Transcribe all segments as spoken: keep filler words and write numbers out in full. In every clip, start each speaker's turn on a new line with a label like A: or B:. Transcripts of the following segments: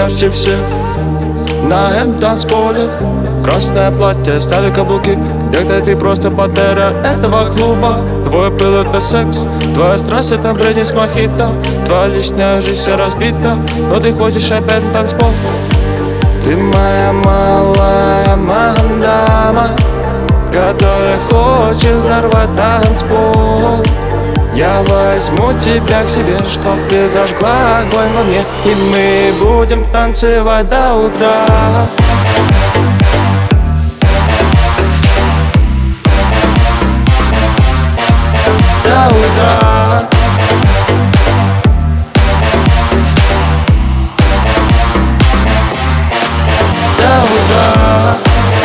A: ярче всех на этом танцполе. Красное платье, стали каблуки. Где-то ты просто пантера этого клуба. Твой пыл — это секс, твоя страсть — это бредни с мохито. Твоя личная жизнь вся разбита, но ты ходишь опять на танцпол. Ты моя малая мандама, которая хочет взорвать танцпол. Я возьму тебя к себе, чтоб ты зажгла огонь во мне, и мы будем танцевать до утра. До утра. До утра.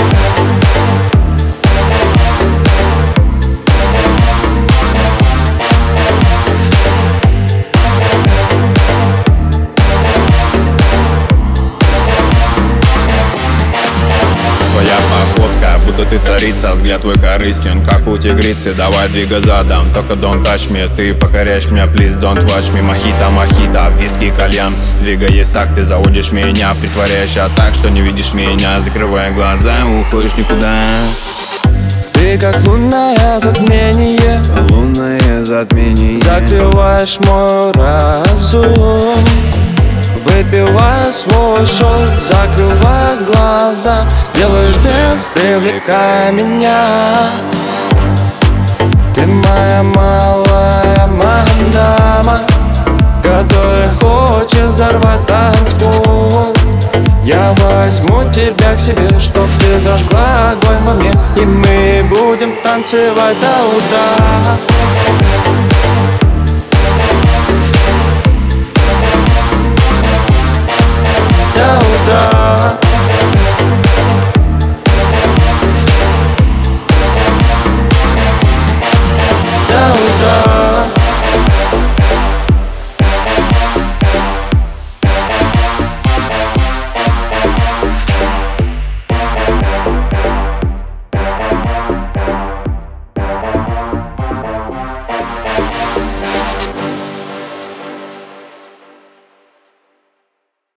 B: Твоя походка, будто ты царица, взгляд твой корыстен, как у тигрицы. Давай двигай задом, только don't touch me. Ты покоряешь меня, please don't watch me. Мохито, мохито, виски, кальян. Двигаясь так, ты заводишь меня, притворяешься так, что не видишь меня. Закрывая глаза, уходишь никуда.
A: Ты как лунное затмение,
B: лунное затмение.
A: закрываешь мой разум. Выпивая свой шот, закрывая глаза, делаешь дэнс, привлекая меня. Ты моя малая мандама, которая хочет взорвать танцпол. Я возьму тебя к себе, чтоб ты зажгла огонь во мне, и мы будем танцевать до утра.